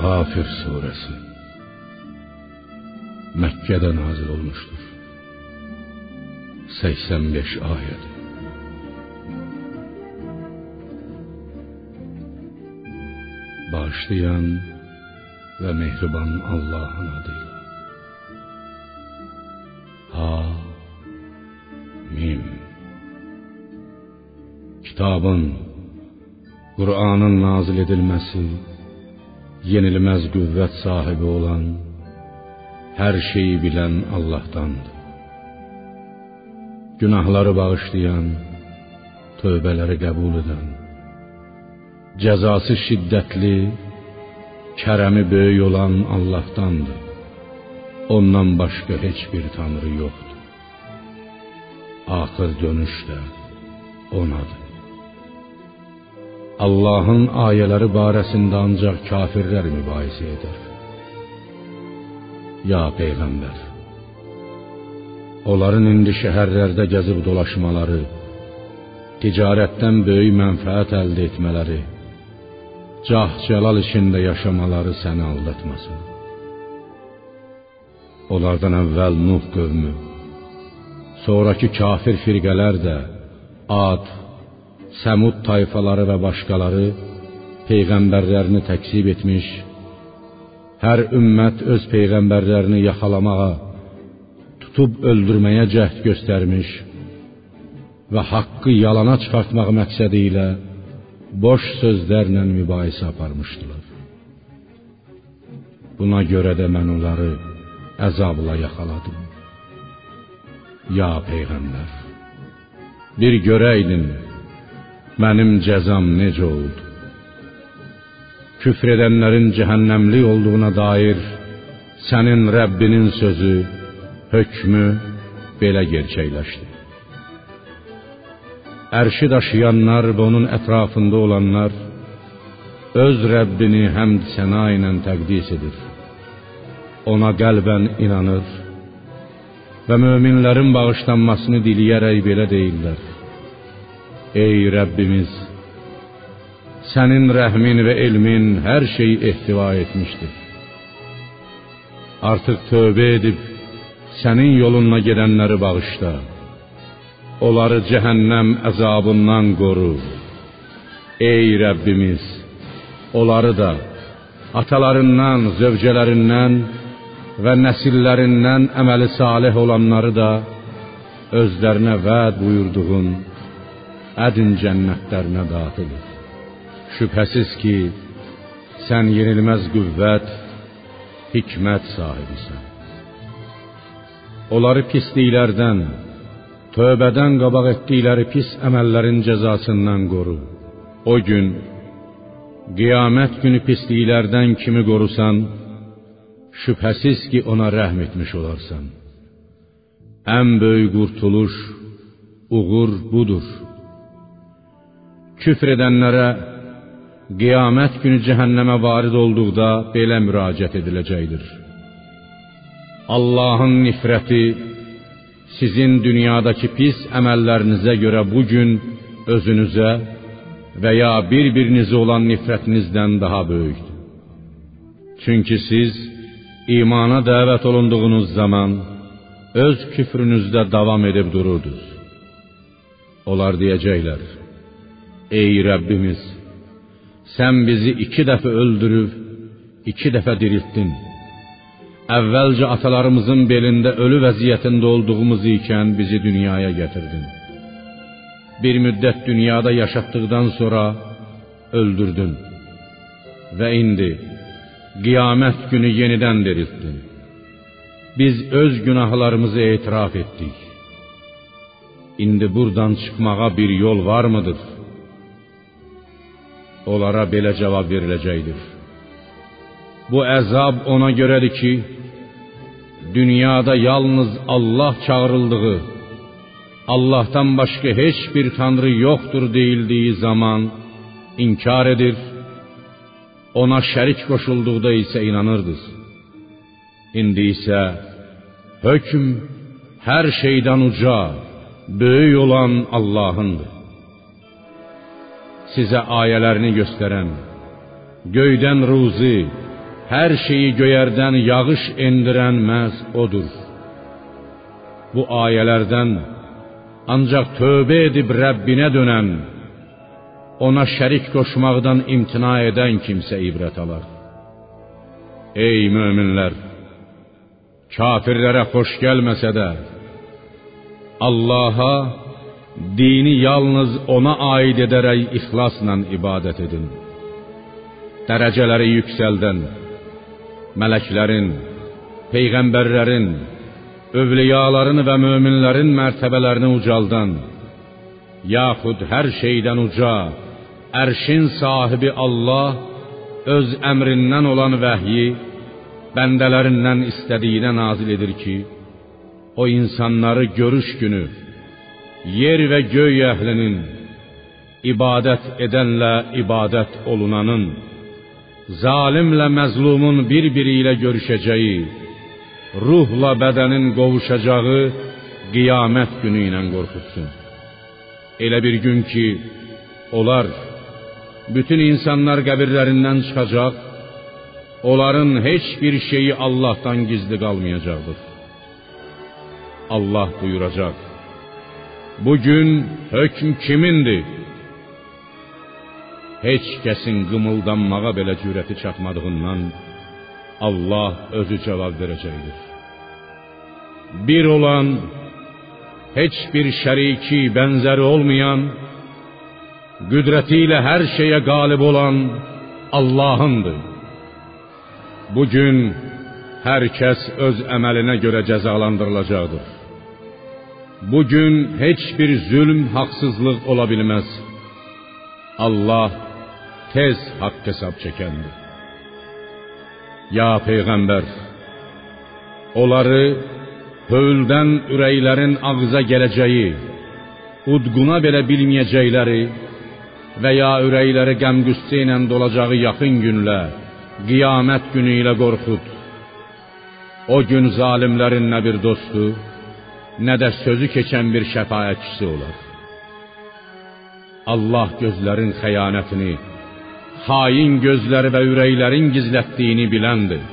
Gafir suresi Mekke'de nazil olmuştur. 85 ayet. Bağışlayan ve mehriban Allah'ın adıyla. Hamim. Kitabın, Kur'an'ın nazil edilmesi, yenilmez qüvvət sahibi olan, her şeyi bilen Allah'tandır. Günahları bağışlayan, tövbələri qəbul edən, cəzası şiddətli, kərəmi böyük olan Allah'tandır. Ondan başqa heç bir tanrı yoxdur. Axır dönüş də onadır. Allah'ın ayələri barəsində ancaq kafirlər mübahisə edər. Ya Peyğəmbər, onların indi şəhərlərdə gəzib dolaşmaları, ticarətdən böyük mənfəət əldə etmələri, cah-cəlal içində yaşamaları səni aldatmasın. Onlardan əvvəl Nuh qövmü, sonraki kafir firqələr də Ad, Səmud tayfaları və başqaları peyğəmbərlərini təkzib etmiş, hər ümmət öz peyğəmbərlərini yaxalamağa, tutub öldürməyə cəhd göstərmiş və haqqı yalana çıxartmaq məqsədi ilə boş sözlərlə mübahisə aparmışdılar. Buna görə də mən onları əzabla yaxaladım. Ya Peyğəmbər, bir görəydin mənim cəzam necə oldu? Küfr edənlərin cəhənnəmli olduğuna dair sənin Rəbbinin sözü, hökmü belə gerçəkləşdi. Ərşi daşıyanlar və onun ətrafında olanlar öz Rəbbini həmd səna ilə təqdis edir. Ona qəlbən inanır və möminlərin bağışlanmasını diləyərək belə deyirlər: Ey Rəbbimiz, sənin rəhmin və elmin hər şeyi ehtiva etmişdir. Artıq tövbə edib sənin yoluna gedənləri bağışla. Onları cəhənnəm əzabından qoru. Ey Rəbbimiz, onları da atalarından, zövcələrindən və nəsillərindən əməli salih olanları da özlərinə vəd buyurduğun ədin cənnətlərinə daxil et. Şübhəsiz ki, sən yenilməz qüvvət, hikmət sahibisən. Onları pisliklərdən, tövbədən qabaq etdikləri pis əməllərin cəzasından qoru. O gün, qiyamət günü pisliklərdən kimi qorusan, şübhəsiz ki, ona rəhm etmiş olarsan. Ən böyük qurtuluş, uğur budur. Küfr edənlərə qiyamət günü cəhənnəmə varid olduqda belə müraciət ediləcəkdir: Allah'ın nifrəti sizin dünyadakı pis əməllərinizə görə bugün özünüzə və ya bir-birinizə olan nifrətinizdən daha böyükdür. Çünki siz imana dəvət olunduğunuz zaman öz küfrünüzdə davam edib dururdunuz. Onlar deyəcəklər: Ey Rəbbimiz, sən bizi 2 dəfə öldürüb, 2 dəfə diriltdin. Əvvəlcə atalarımızın belində ölü vəziyyətində olduğumuz ikən bizi dünyaya gətirdin. Bir müddət dünyada yaşatdıqdan sonra öldürdün. Və indi qiyamət günü yenidən diriltdin. Biz öz günahlarımızı etiraf etdik. İndi buradan çıxmağa bir yol var mıdır? Onlara belə cavab veriləcəkdir: Bu əzab ona görədir ki, dünyada yalnız Allah çağırıldığı, Allah'tan başqa heç bir tanrı yoxdur deyildiyi zaman inkar edir, ona şərik qoşulduqda isə inanırdınız. İndi isə hökm hər şeydən uca, böyük olan Allah'ındır. Sizə ayələrini göstərən, göydən ruzi, hər şeyi göyərdən yağış endirən məhz odur. Bu ayələrdən ancaq tövbə edib Rəbbinə dönən, ona şərik qoşmaqdan imtina edən kimsə ibrət alar. Ey möminlər! Kafirlərə xoş gəlməsə də, Allaha, dini yalnız ona aid edərək ixlasla ibadət edin. Dərəcələri yüksəldən, mələklərin, peyğəmbərlərin, övliyaların və möminlərin mərtəbələrini ucaldan, yaxud hər şeydən uca, ərşin sahibi Allah öz əmrindən olan vəhyi bəndələrindən istədiyinə nazil edir ki, o insanları görüş günü yer və göy əhlinin, ibadət edənlə ibadət olunanın, zalimlə məzlumun bir-biri ilə görüşəcəyi, ruhla bədənin qovuşacağı qiyamət günü ilə qorxutsun. Elə bir gün ki, onlar, bütün insanlar qəbirlərindən çıxacaq, onların heç bir şeyi Allah'tan gizli qalmayacaqdır. Allah buyuracaq: bugün hökm kimindir? Heç kəsin qımıldanmağa belə cürəti çatmadığından Allah özü cavab verəcəkdir. Bir olan, heç bir şəriki, bənzəri olmayan, qüdrəti ilə hər şeyə qalib olan Allah'ındır. Bugün hər kəs öz əməlinə görə cəzalandırılacaqdır. Bugün heç bir zülm, haqsızlıq ola bilməz. Allah tez haqq hesab çəkəndir. Ya Peyğəmbər, onları hövldən ürəklərin ağza gələcəyi, udquna belə bilməyəcəkləri və ya ürəkləri qəm-qüssə ilə dolacağı yaxın günlə, qiyamət günü ilə qorxud. O gün zalimlərin nə bir dostu, nə də sözü keçən bir şəfaətçisi olar. Allah gözlərin xəyanətini, hain gözləri və ürəklərin gizlətdiyini biləndir.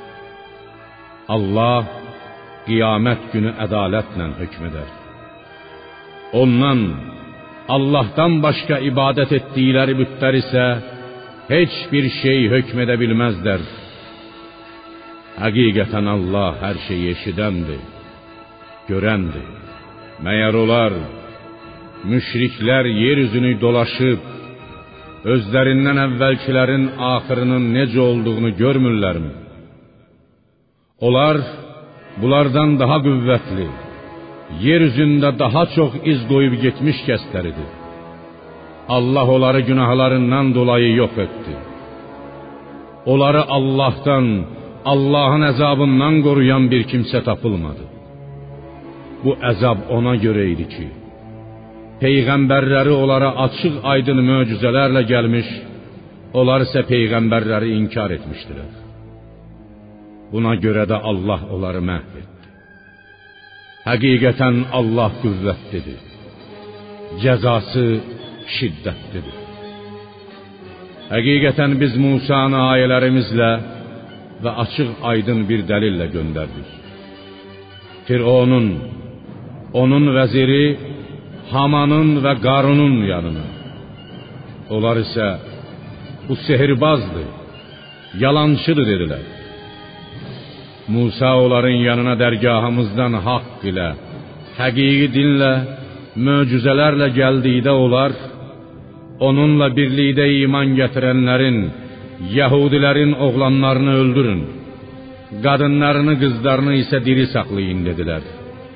Allah qiyamət günü ədalətlə hökm edər. Ondan, Allah'tan başqa ibadət etdikləri bütlər isə heç bir şey hökm edə bilməzlər. Həqiqətən Allah hər şeyi eşidəndir, görəndir. Məyər olar, müşriklər yeryüzünü dolaşıb, özlərindən əvvəlkilərin axırının necə olduğunu görmürlərmi? Onlar, bunlardan daha qüvvətli, yeryüzündə daha çox iz qoyub getmiş kəsləridir. Allah onları günahlarından dolayı yox etdi. Onları Allah'tan, Allah'ın əzabından qoruyan bir kimsə tapılmadı. Bu əzab ona görə idi ki, Peyğəmbərləri onlara açıq aydın möcüzələrlə gəlmiş, onlar isə Peyğəmbərləri inkar etmişdilər. Buna görə də Allah onları məhv etdi. Həqiqətən Allah qüvvətlidir, cəzası şiddətlidir. Həqiqətən biz Musanı ayələrimizlə və açıq aydın bir dəlillə göndərdik. Fironun, onun vəziri Hamanın və Qarunun yanına. Onlar isə bu sehirbazdır, yalancıdır dedilər. Musa onların yanına dərgahımızdan haqq ilə, həqiqi dinlə, möcüzələrlə gəldikdə onlar, onunla birlikdə iman gətirənlərin, Yahudilərin oğlanlarını öldürün, qadınlarını, qızlarını isə diri saxlayın dedilər.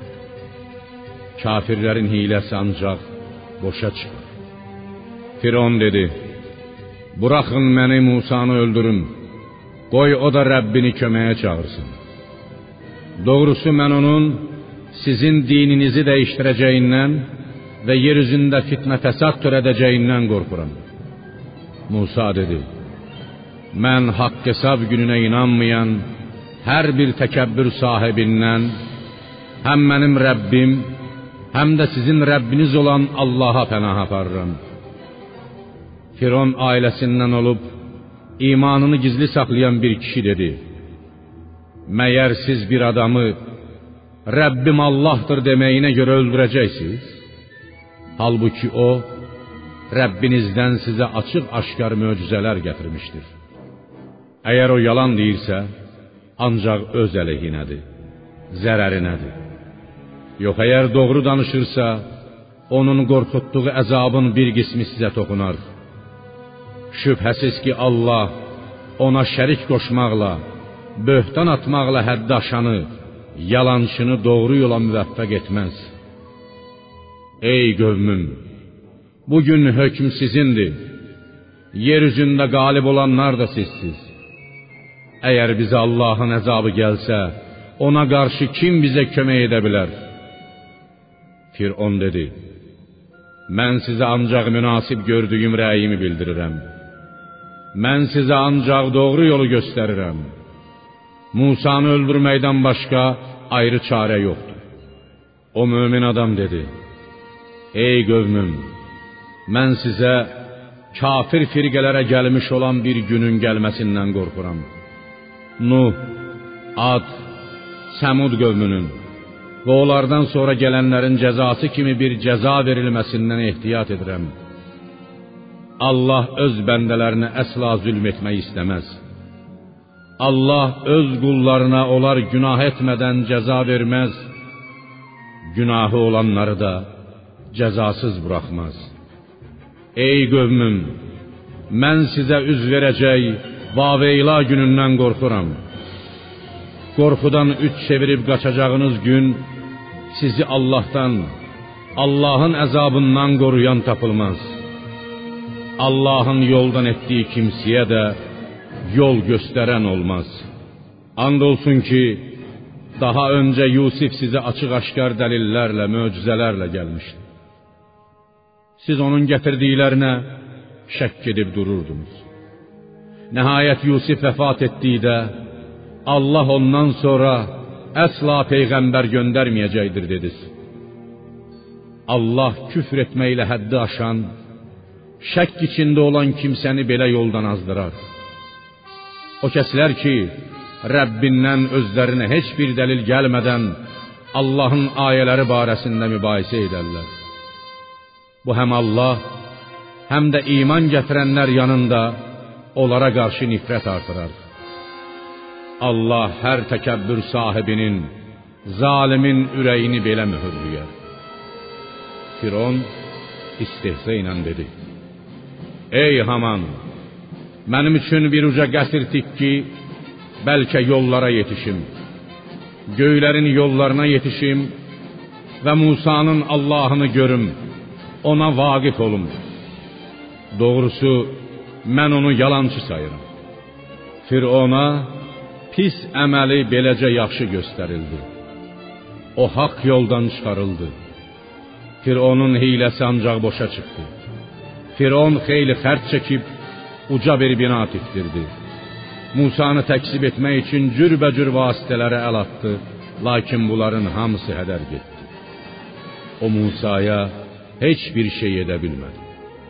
Kafirlərin hiləsi ancaq boşa çıxır. Firon dedi: buraxın məni, Musanı öldürün, qoy o da Rəbbini köməyə çağırsın. Doğrusu mən onun sizin dininizi dəyişdirəcəyindən və yeryüzündə fitnə fəsad törədəcəyindən qorxuram. Musa dedi: mən haqq hesab gününə inanmayan hər bir təkəbbür sahibindən həm mənim Rəbbim, həm də sizin Rəbbiniz olan Allaha pənah aparıram. Firon ailəsindən olub, imanını gizli saxlayan bir kişi dedi: "Məyər siz bir adamı Rəbbim Allah'tır deməyinə görə öldürəcəksiniz? Halbuki o, Rəbbinizdən sizə açıq-aşkar möcüzələr gətirmişdir. Əgər o yalan deyirsə, ancaq öz əleyhinədir, zərərinədir. Yox, əgər doğru danışırsa, onun qorxutduğu əzabın bir qismi sizə toxunar. Şübhəsiz ki, Allah ona şərik qoşmaqla, böhtan atmaqla həddi aşanı, yalançını doğru yola müvəffəq etməz. Ey qövmüm, bugün hökm sizindir. Yer üzündə qalib olanlar da sizsiz. Əgər bizə Allahın əzabı gəlsə, ona qarşı kim bizə kömək edə bilər?" Firon dedi: "Mən sizə ancaq münasib gördüyüm rəyimi bildirirəm. Mən sizə ancaq doğru yolu göstərirəm. Musanı öldürməkdən başqa ayrı çarə yoxdur." O mömin adam dedi: "Ey qövmüm, mən sizə kafir firqələrə gəlmiş olan bir günün gəlməsindən qorxuram. Nuh, Ad, Səmud qövmünün və onlardan sonra gələnlərin cəzası kimi bir cəza verilməsindən ehtiyat edirəm. Allah öz bəndələrinə əsla zülm etmək istəməz. Allah öz qullarına onlar günah etmədən cəza verməz, günahı olanları da cəzasız buraxmaz. Ey qövmüm, mən sizə üz verəcək Vaveyla günündən qorxuram. Qorxudan üç çevirib qaçacağınız gün sizi Allah'tan, Allah'ın əzabından qoruyan tapılmaz. Allah'ın yoldan etdiyi kimsəyə də yol göstərən olmaz. And olsun ki, daha öncə Yusif sizə açıq-aşkar dəlillərlə, möcüzələrlə gəlmişdi. Siz onun gətirdiklərinə şəkk edib dururdunuz. Nəhayət Yusif vəfat etdikdə, Allah ondan sonra əsla peyğəmbər göndərməyəcəkdir dediniz. Allah küfr etməklə həddi aşan, şəkk içində olan kimsəni belə yoldan azdırar. O kəslər ki, Rəbbindən özlərinə heç bir dəlil gəlmədən Allah'ın ayələri barəsində mübahisə edərlər. Bu həm Allah, həm də iman gətirənlər yanında onlara qarşı nifrət artırar. Allah hər təkəbbür sahibinin, zalimin ürəyini belə mühürlüyər. Firon istehza ilə dedi: "Ey Haman, mənim üçün bir uca qəsr tik ki, bəlkə yollara yetişim, göylərin yollarına yetişim və Musa'nın Allah'ını görüm, ona vaqif olum. Doğrusu, mən onu yalancı sayıram." Firona pis əməli beləcə yaxşı göstərildi. O haqq yoldan çıxarıldı. Fironun hiyləsi ancaq boşa çıxdı. Firon xeyli xərc çəkib uca bir bina tikdirdi. Musanı təksib etmək üçün cürbəcür vasitələrə əl atdı, lakin bunların hamısı hədər getdi. O Musaya heç bir şey edə bilmədi.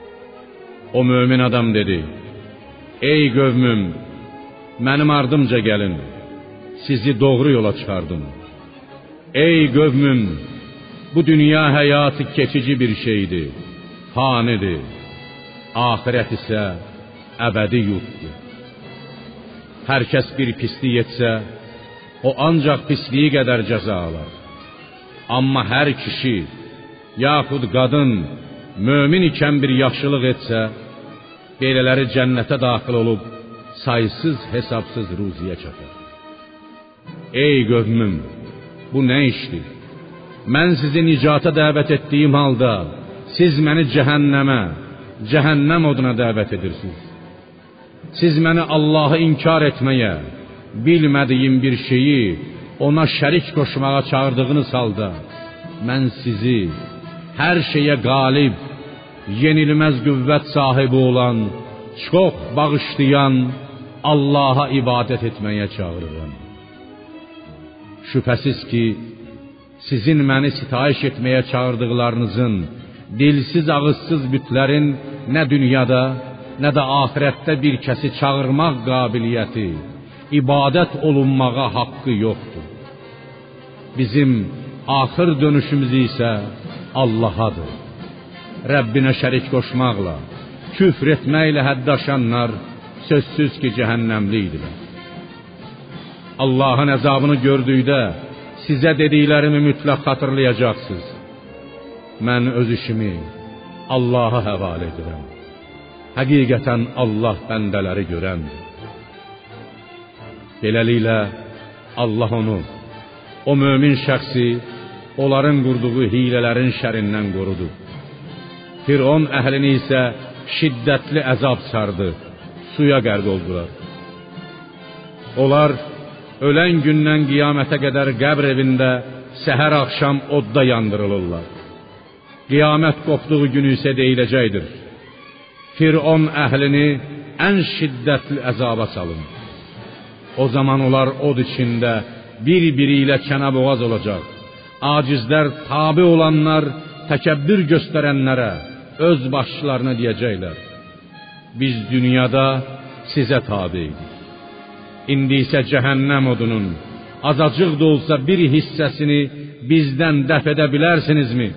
O mömin adam dedi: "Ey qövmüm, mənim ardımca gəlin, sizi doğru yola çıxardım. Ey qövmüm, bu dünya həyatı keçici bir şeydir, fanidir. Ahirət isə əbədi yurtdur. Hər kəs bir pislik etsə, o ancaq pisliyi qədər cəza alar. Amma hər kişi, yaxud qadın, mömin ikən bir yaxşılıq etsə, belələri cənnətə daxil olub, saysız hesabsız ruziyə çatar. Ey qövmüm, bu nə işdir? Mən sizi nicata dəvət etdiyim halda, siz məni cəhənnəm oduna dəvət edirsiniz. Siz məni Allah'ı inkar etməyə, bilmədiyim bir şeyi ona şərik qoşmağa çağırdığınız halda, mən sizi hər şeyə qalib, yenilməz qüvvət sahibi olan, çox bağışlayan Allah'a ibadət etməyə çağırıram. Şübhəsiz ki, sizin məni sitayiş etməyə çağırdıqlarınızın, dilsiz ağızsız bütlərin nə dünyada, nə də axirətdə bir kəsi çağırmaq qabiliyyəti, ibadət olunmağa haqqı yoxdur. Bizim axır dönüşümüz isə Allahadır. Rəbbinə şərik qoşmaqla, küfr etməklə hədd aşanlar sözsüz ki, cəhənnəmlidirlər. Allahın əzabını gördükdə sizə dediklərimi mütləq xatırlayacaqsınız. Mən öz işimi Allaha həvalə edirəm. Həqiqətən Allah bəndələri görəndir. Beləliklə Allah onu, o mömin şəxsi onların qurduğu hilələrin şərindən qorudu. Firon əhlini isə şiddətli əzab sardı, suya qərq oldular. Onlar ölən gündən qiyamətə qədər qəbr evində səhər axşam odda yandırılırlar. Qiyamət qopduğu günü isə deyiləcəkdir: Firon əhlini ən şiddətli əzaba salın. O zaman onlar od içində bir-biri ilə kənə-boğaz olacaq. Acizlər tabi olanlar təkəbbür göstərənlərə, öz başçılarına deyəcəklər: biz dünyada sizə tabeydik. İndi isə cəhənnəm odunun azacıq da olsa bir hissəsini bizdən dəf edə bilərsinizmi?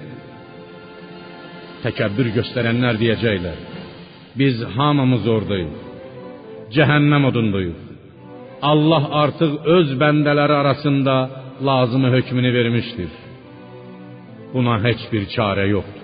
Təkəbbür göstərənlər deyəcəklər: biz hamımız oradayıq, cəhənnəm odundayıq. Allah artıq öz bəndələri arasında lazımı hökmünü vermişdir. Buna heç bir çarə yoxdur.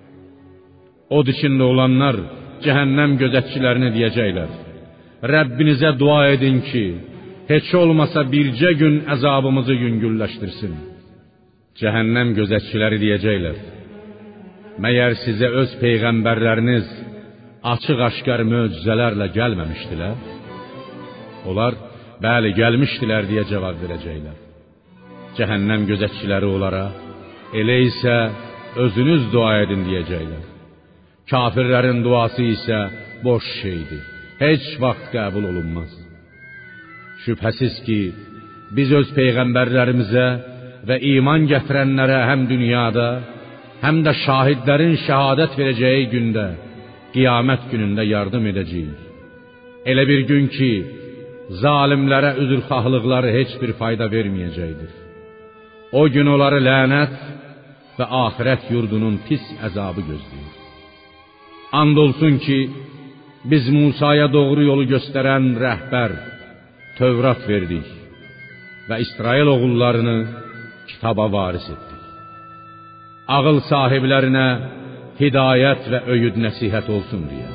Od içində olanlar cəhənnəm gözətçilərinə deyəcəklər: Rəbbinizə dua edin ki, heç olmasa bircə gün əzabımızı yüngülləşdirsin. Cəhənnəm gözətçiləri deyəcəklər: məyər sizə öz peyğəmbərləriniz açıq-aşkar möcüzələrlə gəlməmişdilər? Onlar, bəli, gəlmişdilər deyə cavab verəcəklər. Cəhənnəm gözətçiləri onlara: elə isə özünüz dua edin deyəcəklər. Kafirlərin duası isə boş şeydir, heç vaxt qəbul olunmaz. Şübhəsiz ki, biz öz peyğəmbərlərimizə və iman gətirənlərə həm dünyada, həm də şahidlərin şəhadət verəcəyi gündə, qiyamət günündə yardım edəcəyik. Elə bir gün ki, zalimlərə üzrxahlıqları heç bir fayda verməyəcəkdir. O gün onları lənət və axirət yurdunun pis əzabı gözləyir. And olsun ki, biz Musaya doğru yolu göstərən rəhbər, Tövrat verdik və İsrail oğullarını kitaba varis etdik. Ağıl sahiblərinə hidayət və öyüd nəsihət olsun deyə.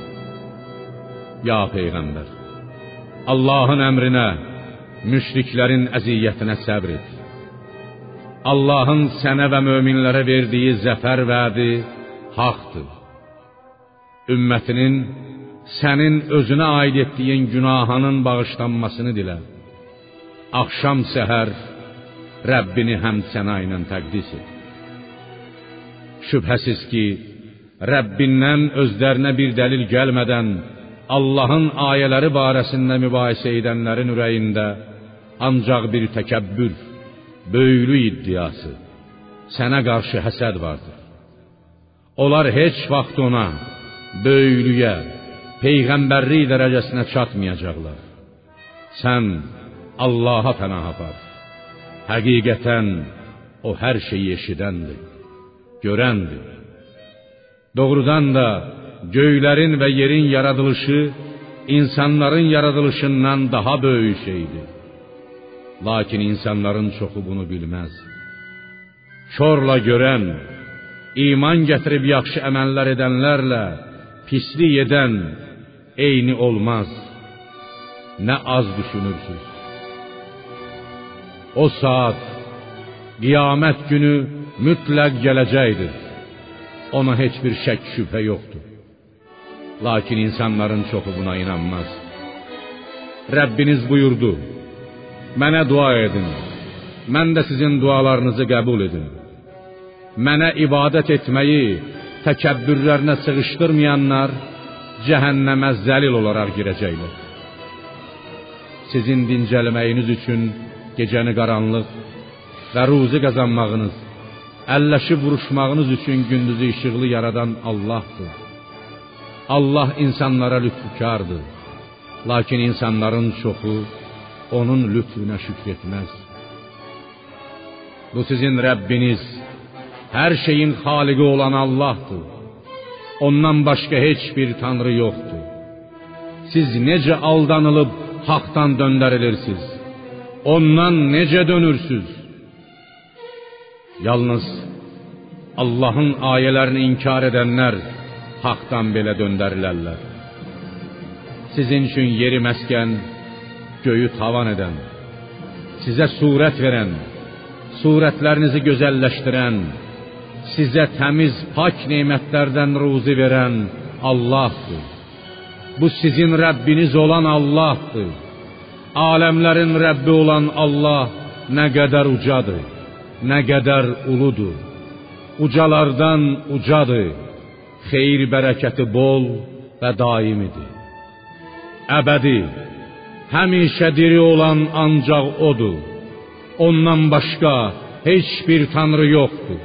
Ya Peyğəmbər, Allahın əmrinə, müşriklərin əziyyətinə səbr et. Allahın sənə və möminlərə verdiyi zəfər vədi haqdır. Ümmətinin sənin özünə aid etdiyin günahının bağışlanmasını dilə. Axşam səhər Rəbbini həmd sənə ilə təqdis et. Şübhəsiz ki, Rəbbindən özlərinə bir dəlil gəlmədən Allahın ayələri barəsində mübahisə edənlərin ürəyində ancaq bir təkəbbür, böyüklük iddiası, sənə qarşı həsəd vardır. Onlar heç vaxt ona, böyüklüyə, peyğəmbərlik dərəcəsinə çatmayacaqlar. Sən Allaha pənah apar. Həqiqətən o hər şeyi eşidəndir, görəndir. Doğrudan da göylərin və yerin yaradılışı insanların yaradılışından daha böyük şeydir. Lakin insanların çoxu bunu bilməz. Körlə görən, iman gətirib yaxşı əməllər edənlərlə pislik edən eyni olmaz. Nə az düşünürsüz. O saat, qiyamət günü mütləq gələcəkdir. Ona heç bir şək şübhə yoxdur. Lakin insanların çoxu buna inanmaz. Rəbbiniz buyurdu: mənə dua edin, mən də sizin dualarınızı qəbul edin. Mənə ibadət etməyi təkəbbürlərinə sığışdırmayanlar cəhənnəmə zəlil olaraq girəcəklər. Sizin dincəlməyiniz üçün gecəni qaranlıq və ruzi qazanmağınız, əlləşib vuruşmağınız üçün gündüzü işıqlı yaradan Allahdır. Allah insanlara lütfükardır. Lakin insanların çoxu onun lütfünə şükr etməz. Bu sizin Rəbbiniz, hər şeyin xaliqi olan Allahdır. Ondan başqa heç bir tanrı yoxdur. Siz necə aldanılıb haqdan döndərilirsiniz? Ondan necə dönürsüz? Yalnız Allahın ayələrini inkar edənlər haqdan belə döndərilərlər. Sizin üçün yeri məskən, göyü tavan edən, sizə surət verən, surətlərinizi gözəlləşdirən, sizə təmiz, pak nemətlərdən ruzi verən Allahdır. Bu sizin Rəbbiniz olan Allahdır. Aləmlərin Rəbbi olan Allah nə qədər ucadır, nə qədər uludur. Ucalardan ucadır, xeyir bərəkəti bol və daimidir. Əbədi, həmişə diri olan ancaq odur. Ondan başqa heç bir tanrı yoxdur.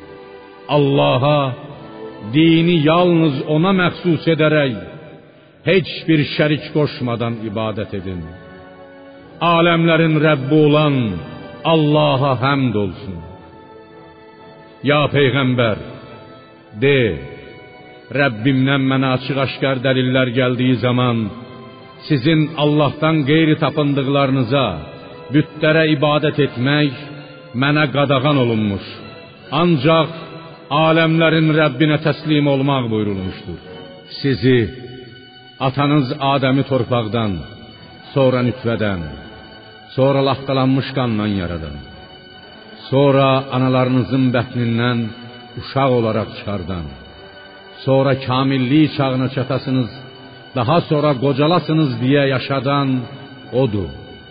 Allaha dini yalnız ona məxsus edərək, heç bir şərik qoşmadan ibadət edin. Aləmlərin Rəbbi olan Allaha həmd olsun. Ya Peyğəmbər, de, Rəbbimdən mənə açıq-aşkar dəlillər gəldiyi zaman, sizin Allahdan qeyri tapındıqlarınıza, bütlərə ibadət etmək mənə qadağan olunmuş. Ancaq aləmlərin Rəbbinə təslim olmaq buyurulmuşdur. Sizi, atanız Adəmi torpaqdan, sonra nütvədən, sonra laxtalanmış qanla yaradan, sonra analarınızın bətnindən uşaq olaraq çıxardan, sonra kamillik çağına çatasınız, daha sonra qocalasınız deyə yaşadan odur.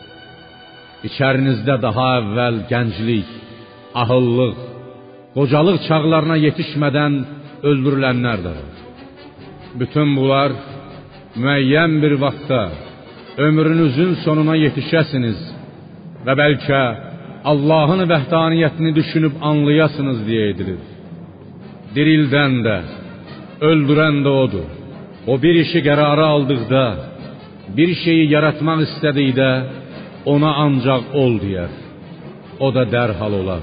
İçərinizdə daha əvvəl gənclik, ahıllıq, qocalıq çağlarına yetişmədən öldürülənlər də var. Bütün bunlar müəyyən bir vaxtda ömrünüzün sonuna yetişəsiniz və bəlkə Allahın vəhdaniyyətini düşünüb anlayasınız deyə edilir. Dirildən də, öldürən də odur. O bir işi qərara aldıqda, bir şeyi yaratmaq istədikdə, ona ancaq ol deyər. O da dərhal olar.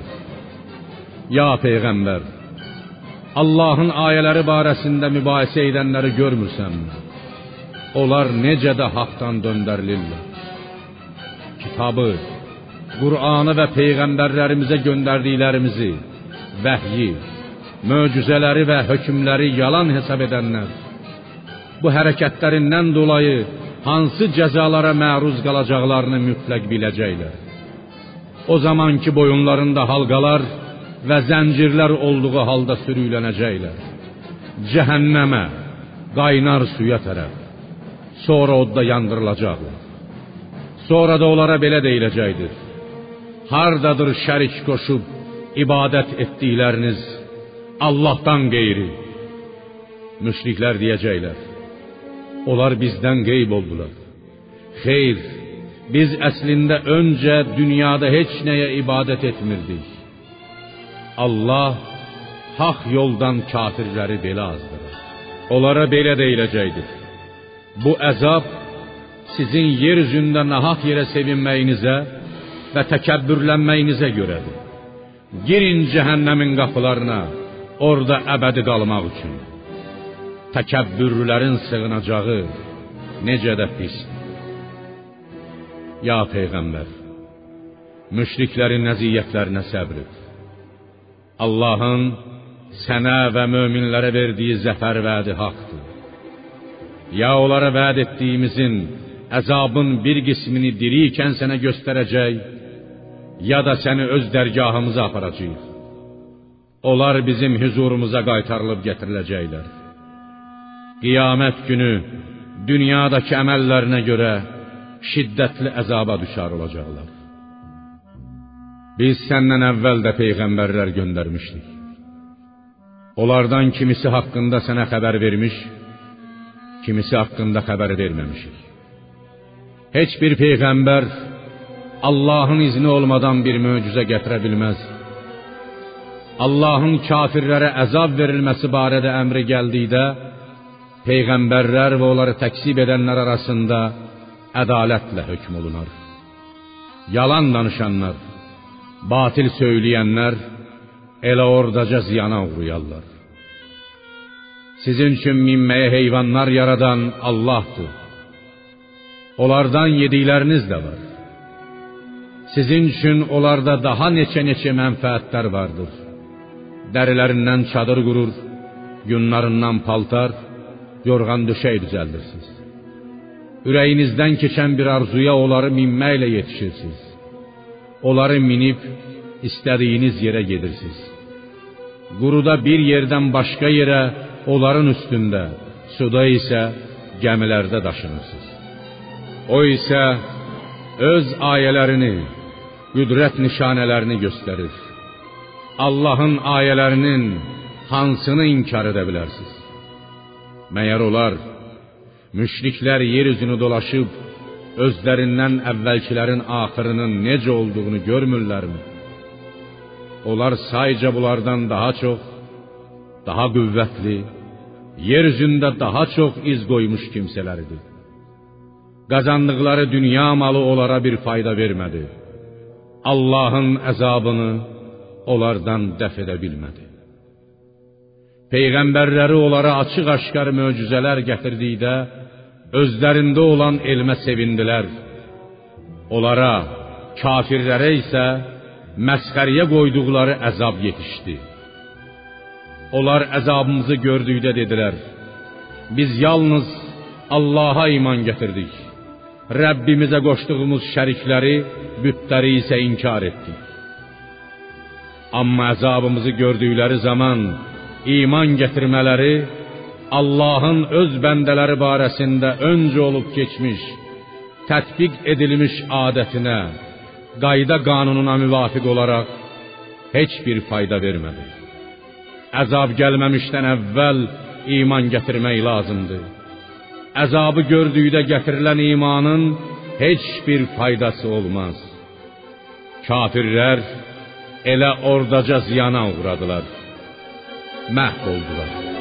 Ya Peyğəmbər, Allahın ayələri barəsində mübahisə edənləri görmürsənmi? Onlar necə də haqdan döndərilirlər. Kitabı, Qur'anı və Peyğəmbərlərimizə göndərdiklərimizi, vəhyi, möcüzələri və hökmləri yalan hesab edənlər, bu hərəkətlərindən dolayı hansı cəzalara məruz qalacaqlarını mütləq biləcəklər. O zaman ki boyunlarında halqalar və zəncirlər olduğu halda sürüklənəcəklər. Cəhənnəmə, qaynar suya tərəf. Sonra odda yandırılacaqlar. Sonra da onlara belə deyiləcəkdir: hardadır şərik qoşub ibadət etdikləriniz Allahdan qeyri? Müşriklər deyəcəklər: onlar bizdən qeyb oldular. Xeyr, biz əslində öncə dünyada heç nəyə ibadət etmirdik. Allah haq yoldan kafirləri belə azdırır. Onlara belə deyiləcəkdir: bu əzab sizin yer üzündə nahaq yerə sevinməyinizə və təkəbbürlənməyinizə görədir. Girin cəhənnəmin qapılarına, orada əbədi qalmaq üçün. Təkəbbürlərin sığınacağı necə də pisdir. Ya Peyğəmbər, müşriklərin əziyyətlərinə səbr et. Allahın sənə və möminlərə verdiyi zəfər vədi haqdır. Ya onlara vəd etdiyimizin əzabın bir qismini dirikən sənə göstərəcək, ya da səni öz dərgahımıza aparacaq. Onlar bizim huzurumuza qaytarılıb gətiriləcəklər. Qiyamət günü dünyadakı əməllərinə görə şiddətli əzaba düşar olacaqlar. Biz səndən əvvəl də peyğəmbərlər göndərmişdik. Onlardan kimisi haqqında sənə xəbər vermiş, kimisi haqqında xəbər verməmişik. Heç bir peyğəmbər Allahın izni olmadan bir möcüzə gətirə bilməz. Allahın kafirlərə əzab verilməsi barədə əmri gəldikdə, peyğəmbərlər və onları təksib edənlər arasında ədalətlə hökm olunar. Yalan danışanlar, batil söyləyənlər elə ordaca ziyana uğrayarlar. Sizin üçün minməyə heyvanlar yaradan Allahdır. Onlardan yedikləriniz də var. Sizin üçün onlarda daha neçə mənfəətlər vardır. Dərilərindən çadır qurur, yunlarından paltar, yorğan döşək düzəldirsiniz. Ürəyinizdən keçən bir arzuya onları minməklə yetişirsiniz. Onları minib istədiyiniz yerə gedirsiniz. Quruda bir yerdən başqa yerə, onların üstündə, suda isə gəmilərdə daşınırsınız. O isə öz ayələrini, qüdrət nişanələrini göstərir. Allahın ayələrinin hansını inkar edə bilərsiniz? Məyər onlar, müşriklər yer üzünü dolaşıb, özlərindən əvvəlkilərin axırının necə olduğunu görmürlərmi? Onlar sayca bunlardan daha çox, daha qüvvətli, yer üzündə daha çox iz qoymuş kimsələridir. Qazandıqları dünya malı onlara bir fayda vermədi. Allahın əzabını onlardan dəf edə bilmədi. Peyğəmbərləri onlara açıq-aşkar möcüzələr gətirdikdə, özlərində olan elmə sevindilər. Onlara, kafirlərə isə məsxəriyə qoyduqları əzab yetişdi. Onlar əzabımızı gördükdə dedilər, biz yalnız Allaha iman gətirdik. Rəbbimizə qoşduğumuz şərikləri, bütləri isə inkar etdik. Amma əzabımızı gördükləri zaman iman gətirmələri Allahın öz bəndələri barəsində öncə olub keçmiş, tətbiq edilmiş adətinə, qayda qanununa müvafiq olaraq heç bir fayda vermədi. Əzab gəlməmişdən əvvəl iman gətirmək lazımdır. Əzabı gördükdə gətirilən imanın heç bir faydası olmaz. Kafirlər elə ordaca ziyana uğradılar, məhv oldular.